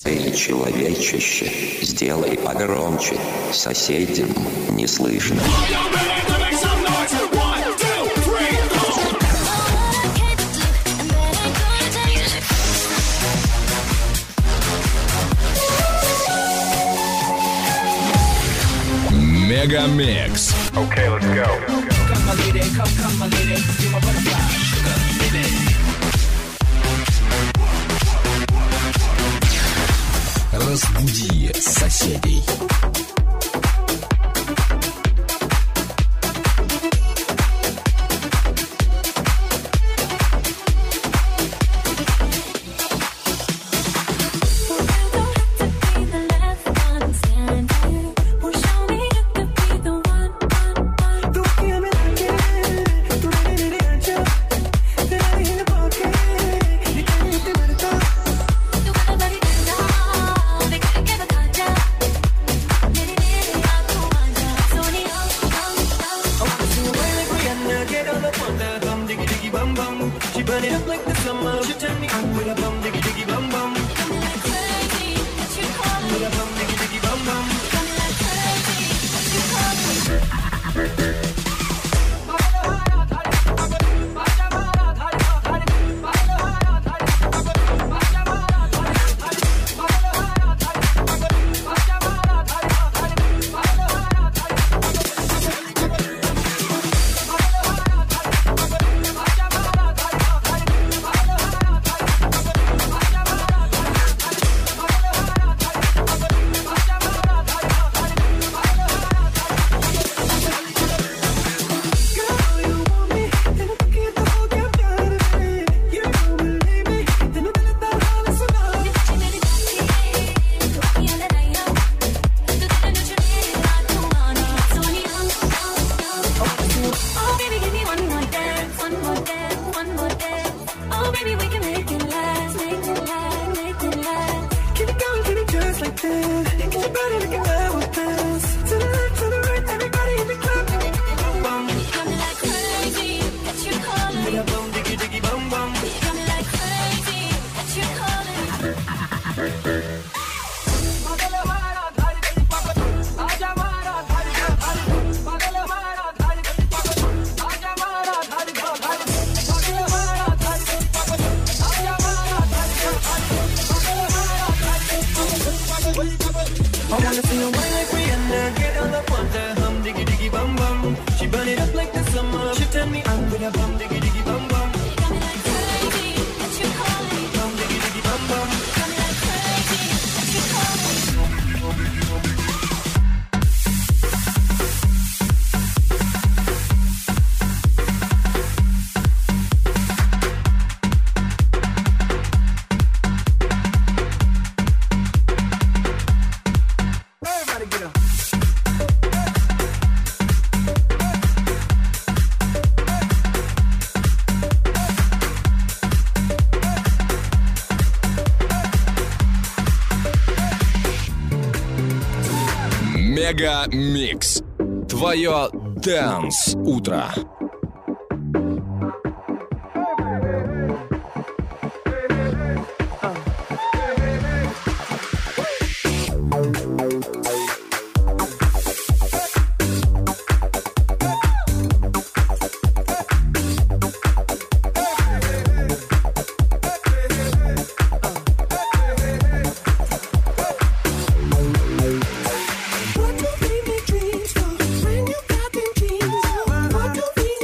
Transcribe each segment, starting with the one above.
Эй, человечище, сделай погромче, соседям не слышно. Мегамикс. Okay, let's go. Come my lady, come my lady, you're my butterfly, sugar, baby. Разбуди соседей. Мегамикс. Твое Dance утро. What do we make dreams for when you got them dreams? What do we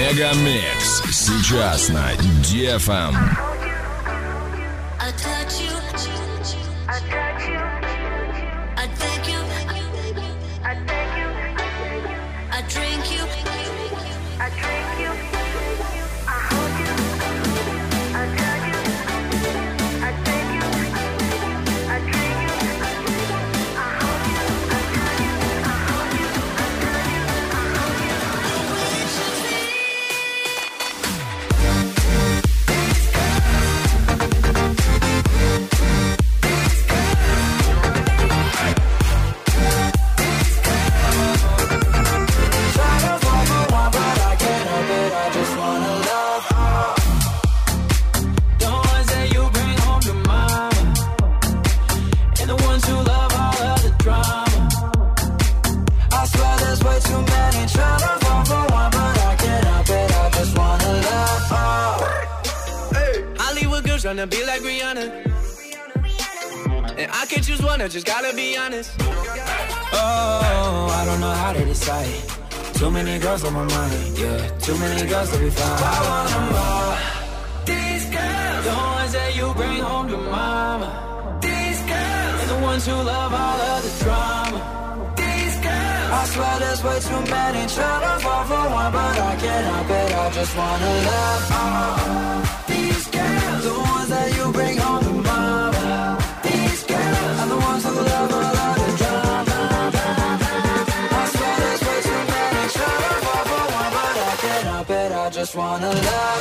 Мегамикс сейчас на DFM. Tryna be like Rihanna, and I can choose one, I just gotta be honest. Oh, I don't know how to decide. Too many girls on my mind, yeah. Too many girls to be fine. I want them all. These girls, the ones that you bring home to mama. These girls, and the ones who love all of the drama. These girls, I swear there's way too many. Tryna fall for one, but I can't help it. I just wanna love all. These girls, the ones that you bring home to mama. These girls are the ones who love all of the drama. I swear there's way too many. Tryna fall for one, but I can't help it. I just wanna love.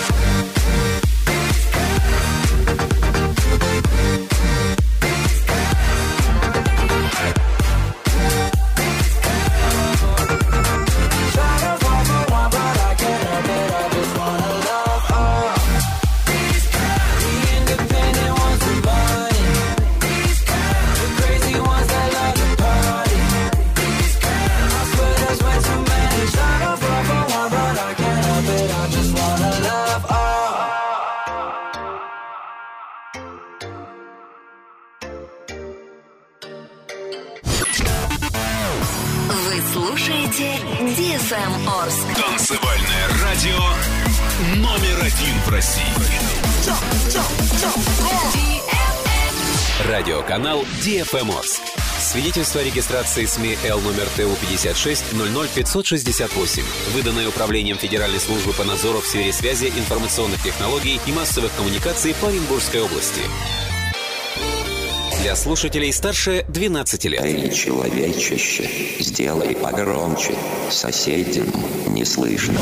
DFM Орск. Танцевальное радио номер один в России. Радиоканал DFM Орск. Свидетельство о регистрации СМИ Л номер ТУ 56 00 568, выданное Управлением Федеральной службы по надзору в сфере связи, информационных технологий и массовых коммуникаций по Оренбургской области. Для слушателей старше 12 лет. Эй, человечище, сделай погромче, соседям не слышно.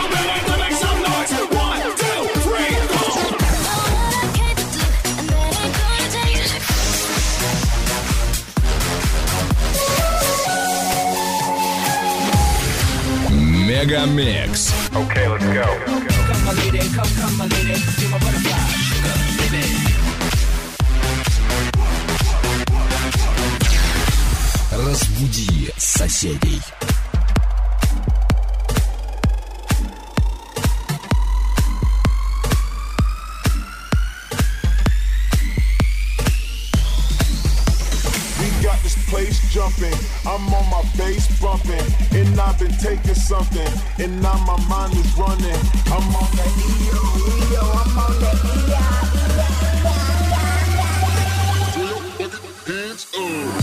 Мегамикс. Okay, let's go. Come my lady, come my lady, you're my butterfly, sugar, baby. Разбуди соседей. Place jumping, I'm on my bass bumping, and I've been taking something, and now my mind is running. I'm on that EO, I'm on that hands up.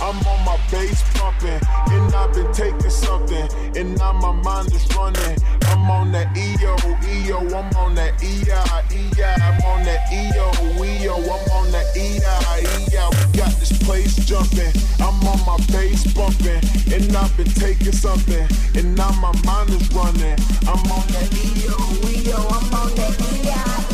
I'm on my bass pumping, and I've been taking something, and now my mind is running. I'm on that EO, I'm on that EI. I'm on that EO, I'm on that EI. We got this place jumping, I'm on my bass bumping, and I've been taking something, and now my mind is running. I'm on that EO, I'm on that EI.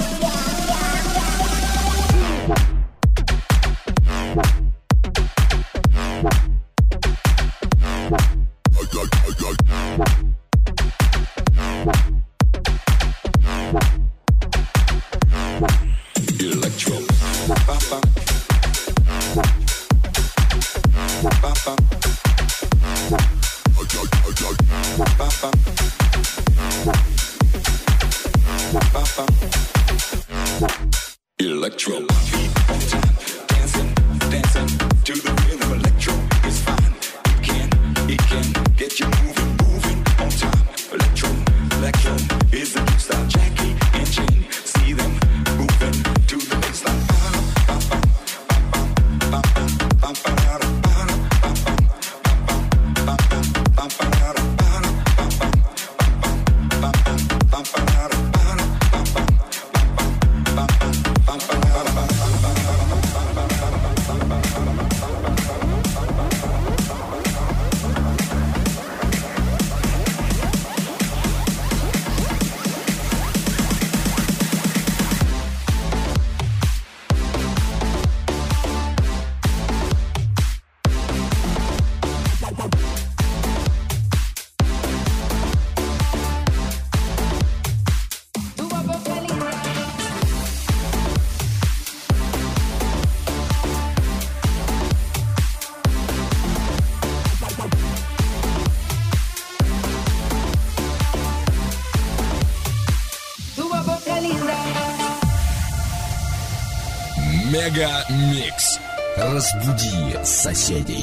Electro. Dancing to the rhythm. Electro is fine. It can get you moving on time. Electro is the new style. Jackie and Jane, see them moving to the baseline. Мега Микс. Разбуди соседей.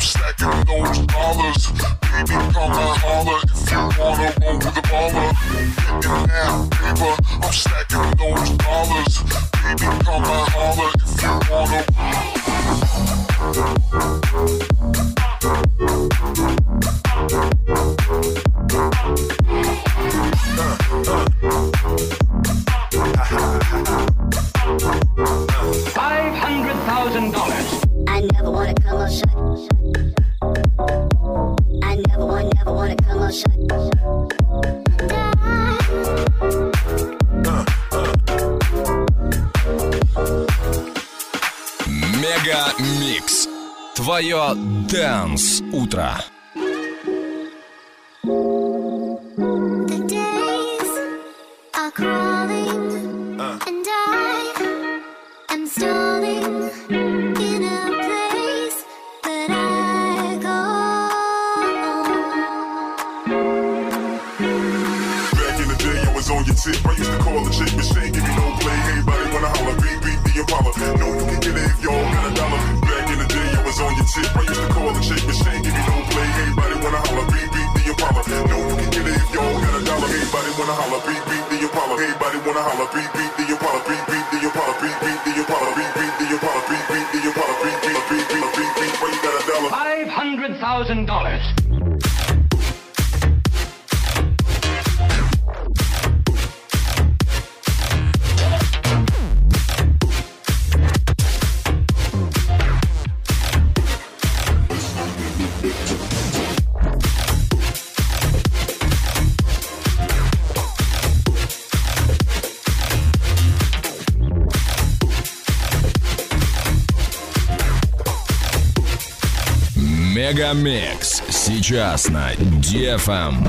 stacking those dollars. Baby, come and holler if you wanna roll with a baller. Getting now, paper, I'm stacking those dollars. Baby, come and holler if you wanna. 500,000 dollars. I never wanna come up shut. I never wanna come up shut. Мега Микс. Твое Dance утро. The days are crawling and I am stalling in a place that I call. Back in the day, I was on your tip. I used to call the chick machine, give me no play. Everybody wanna holler, beat the Impala. No, you can get it if y'all got a dollar. Back in the day, I was on your tip. I used to call the chick machine, give me no play. Everybody wanna holler, beat the Impala. No, you can get it if y'all got a dollar. Everybody wanna holler, beat the Impala. Everybody wanna holler, beat the Impala. Beat the Impala. Beat the Impala. Beat the Impala. Beat the Impala. Beat why you got a dollar? $500,000. Мегамикс сейчас на DFM.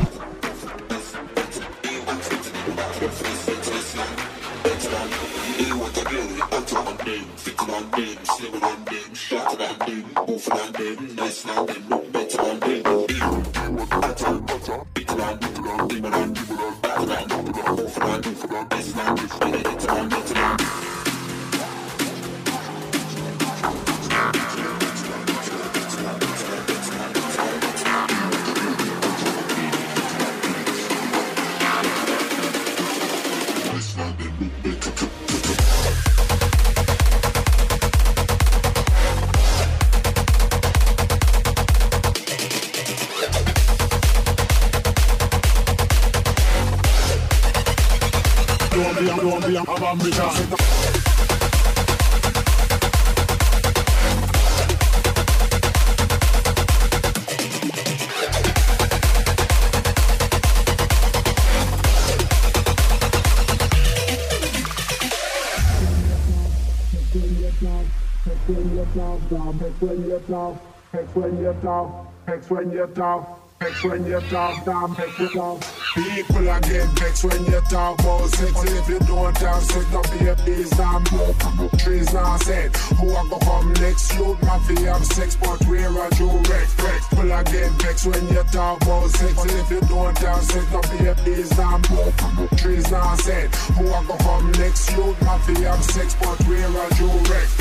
People are get vexed when you talk about sex. If you don't have sex, no babies and trees not said. Who are gonna come next? You might have sex, but where are you wrecked? People are get vexed when you talk about sex. If you don't have sex, no babies and trees not said. Who are gonna come next? You might have sex, but where are you wrecked?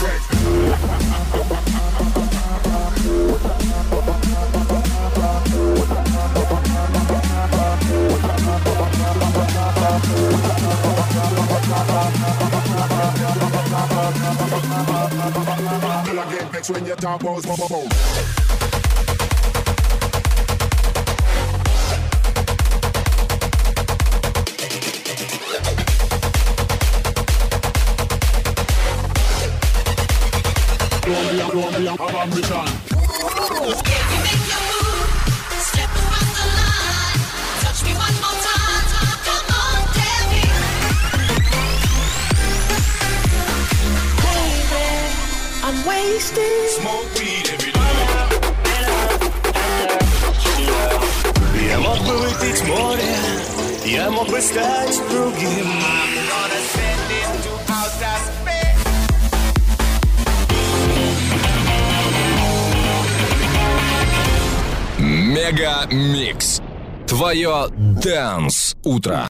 Till I get vexed when you talk about boom. Don't be a ambition. I'm wasted. Smoke weed every day. Я мог бы выпить море, я мог бы стать другим. Мега Микс. Твое Dance утро.